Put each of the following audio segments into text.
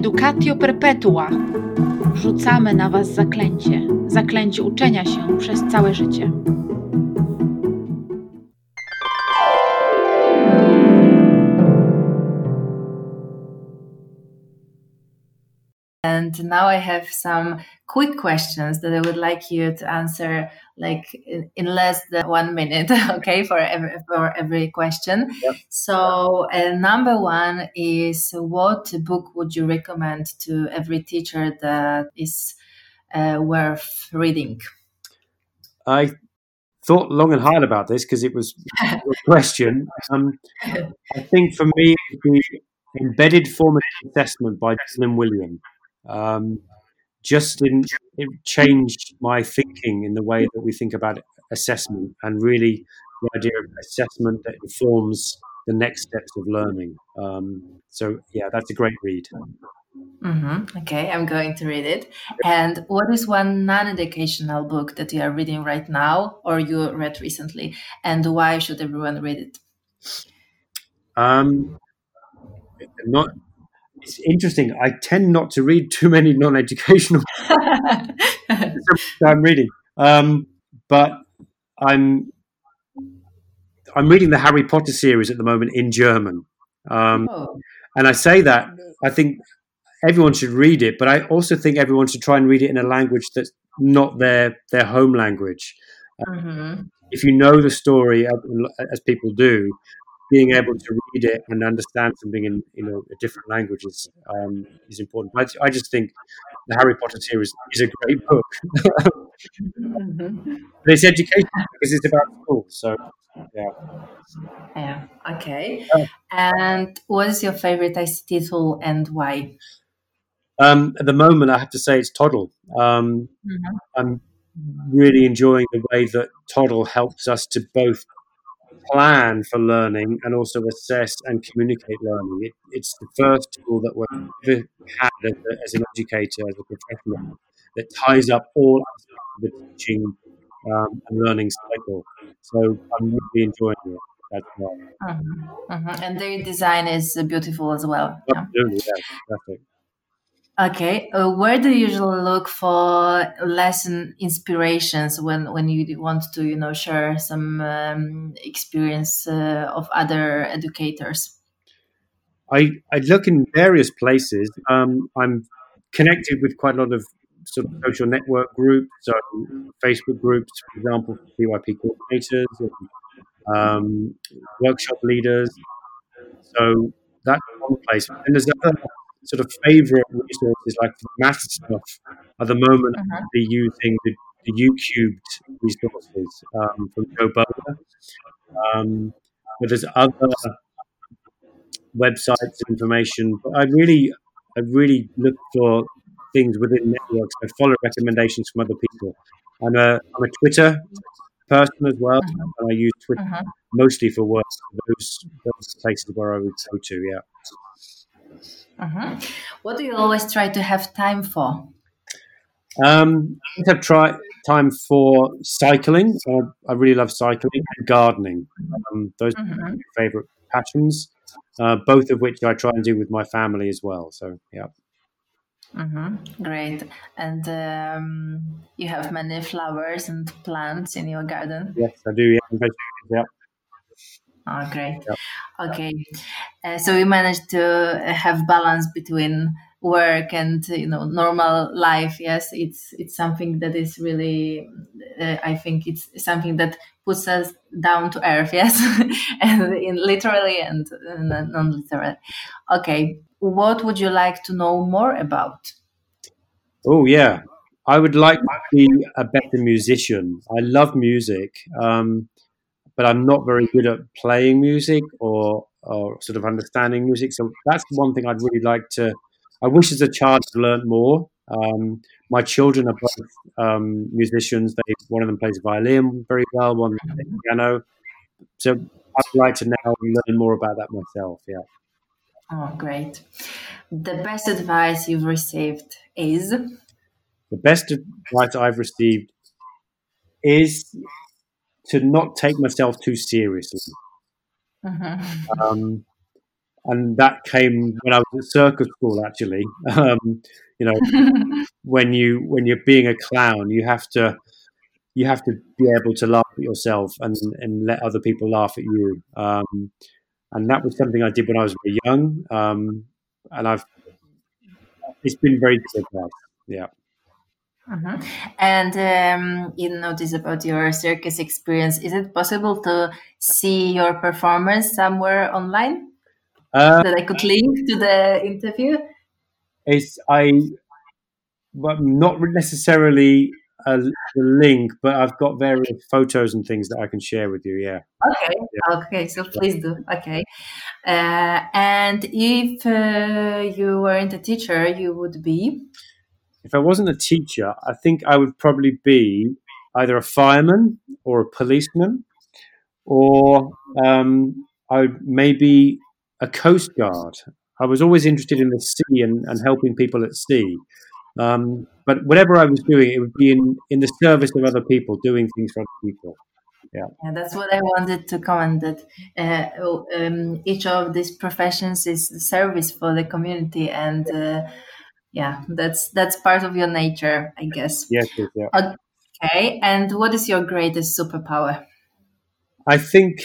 Educatio perpetua. Rzucamy na was zaklęcie. Zaklęcie uczenia się przez całe życie. And now I have some quick questions that I would like you to answer like in less than 1 minute, okay, for every question. Yep. So number one is, what book would you recommend to every teacher that is worth reading? I thought long and hard about this because it was a question. I think for me, it would be Embedded Formative Assessment by Dylan Wiliam. It changed my thinking in the way that we think about assessment, and really the idea of assessment that informs the next steps of learning. So yeah, that's a great read. Okay, I'm going to read it. And what is one non-educational book that you are reading right now or you read recently, and why should everyone read it? It's interesting. I tend not to read too many non-educational books I'm reading, but I'm reading the Harry Potter series at the moment in German, and I say that I think everyone should read it, but I also think everyone should try and read it in a language that's not their home language. If you know the story, as people do, being able to read it and understand something in a different language is important. I just think the Harry Potter series is a great book. But it's educational because it's about school. So yeah. Okay. And what is your favorite ICT tool and why? At the moment, I have to say it's Toddle. I'm really enjoying the way that Toddle helps us to both plan for learning and also assess and communicate learning. It's the first tool that we've ever had as an educator, as a professional, that ties up all aspects of the teaching and learning cycle. So I'm really enjoying it as well. And their design is beautiful as well. Absolutely, yeah, perfect. Okay, where do you usually look for lesson inspirations when you want to share some experience of other educators? I look in various places. I'm connected with quite a lot of sort of social network groups, so Facebook groups, for example, PYP coordinators and workshop leaders. So that's one place. And there's other sort of favorite resources, like for math stuff. At the moment, I'm using the UCubed resources from Joe Bowler. But there's other websites and information. But I really look for things within networks. I follow recommendations from other people. I'm a Twitter person as well, and I use Twitter mostly for work. Those places where I would go to, yeah. What do you always try to have time for? I have time for cycling. I really love cycling and gardening. Those are my favorite passions, both of which I try and do with my family as well. So, yeah. Great. And you have many flowers and plants in your garden? Yes, I do. Yeah. Oh, great. Yep. Okay. So we managed to have balance between work and normal life. Yes, it's something that is really I think it's something that puts us down to earth. Yes, and literally and non-literally. Okay, what would you like to know more about? Oh yeah, I would like to be a better musician. I love music, but I'm not very good at playing music or sort of understanding music. So that's one thing I'd really like to. I wish as a child to learn more. My children are both musicians. One of them plays violin very well, one plays piano. So I'd like to now learn more about that myself. Yeah. Oh, great. The best advice you've received is? The best advice I've received is to not take myself too seriously. and that came when I was at circus school. Actually, you know, when you're being a clown, you have to be able to laugh at yourself and let other people laugh at you. And that was something I did when I was very young. And it's been very good. Yeah. Mhm. And you notice about your circus experience. Is it possible to see your performance somewhere online that I could link to the interview? But not necessarily the link, but I've got various photos and things that I can share with you. Yeah. Okay. Yeah. Okay. So please do. Okay. And if you weren't a teacher, you would be. If I wasn't a teacher, I think I would probably be either a fireman or a policeman, or I would maybe a coast guard. I was always interested in the sea and helping people at sea. But whatever I was doing, it would be in the service of other people, doing things for other people. Yeah. Yeah, that's what I wanted to comment. That each of these professions is service for the community, and yeah, that's part of your nature, I guess. Yes. Yeah. Okay. And what is your greatest superpower? I think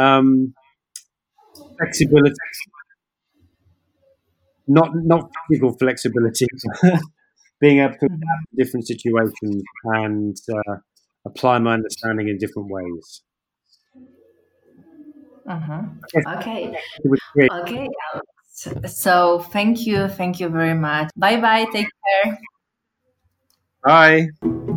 flexibility, not physical flexibility, being able to adapt to different situations and apply my understanding in different ways. Okay. It was great. Okay. So thank you very much. Bye bye. Take care. Bye.